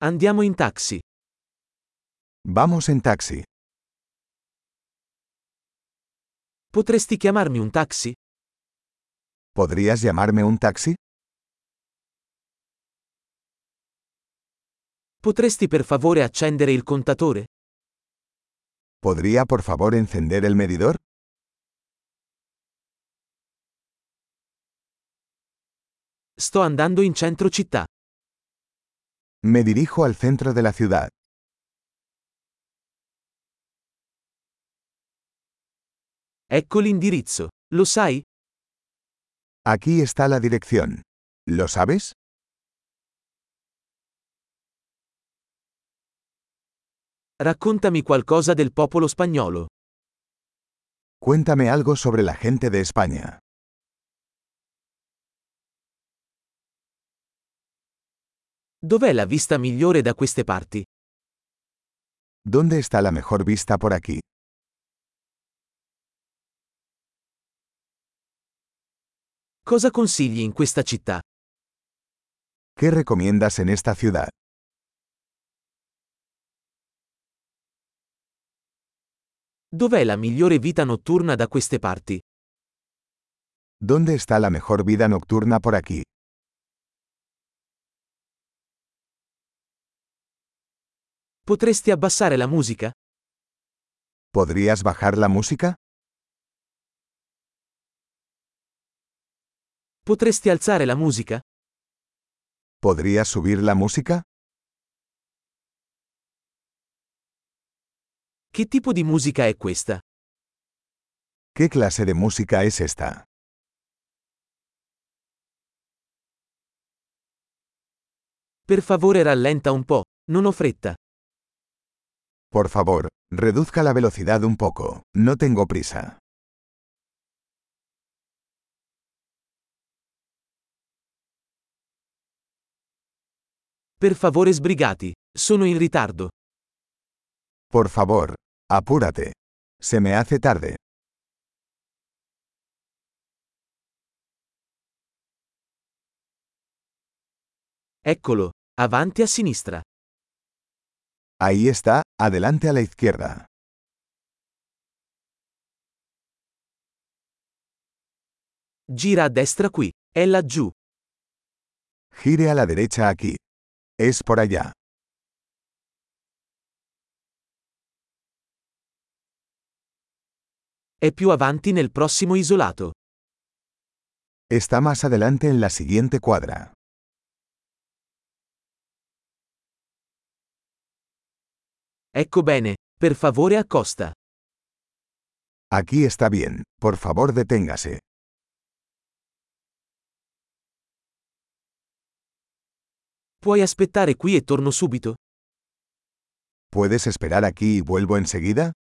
Andiamo in taxi. Vamos en taxi. Potresti chiamarmi un taxi? ¿Podrías llamarme un taxi? Potresti per favore accendere il contatore? ¿Podría por favor encender el medidor? Sto andando in centro città. Me dirijo al centro de la ciudad. Ecco l'indirizzo. Lo sai? Aquí está la dirección. ¿Lo sabes? Raccontami qualcosa del popolo spagnolo. Cuéntame algo sobre la gente de España. Dov'è la vista migliore da queste parti? ¿Dónde está la mejor vista por aquí? Cosa consigli in questa città? ¿Qué recomiendas en esta ciudad? Dov'è la migliore vita notturna da queste parti? ¿Dónde está la mejor vida nocturna por aquí? Potresti abbassare la musica? ¿Podrías bajar la música? Potresti alzare la musica? ¿Podrías subir la música? Che tipo di musica è questa? ¿Qué clase de música es esta? Per favore rallenta un po', non ho fretta. Por favor, reduzca la velocidad un poco. No tengo prisa. Per favore sbrigati, sono in ritardo. Por favor, apúrate. Se me hace tarde. Eccolo, avanti a sinistra. Ahí está, adelante a la izquierda. Gira a destra qui, è laggiù. Gire a la derecha aquí. Es por allá. È più avanti nel prossimo isolato. Está más adelante en la siguiente cuadra. Ecco bene, per favore accosta. Aquí está bien, por favor deténgase. Puoi aspettare qui e torno subito? ¿Puedes esperar aquí y vuelvo enseguida?